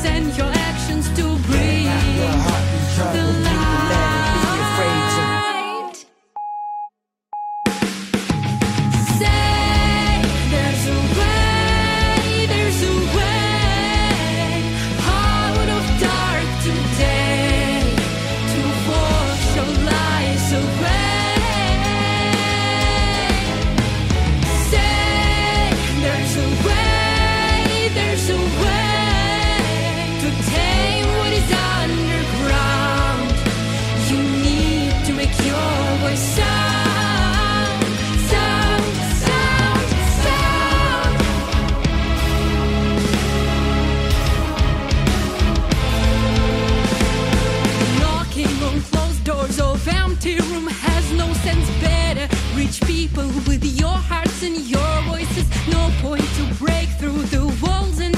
and your actions to bring the light. Say there's a way, there's a way out of dark today to wash your lies away. Say there's a way, there's a way to tame what is underground. You need to make your voice sound, sound, sound, sound. Knocking on closed doors of empty room has no sense. Better reach people with your hearts and your voices. No point to break through the walls and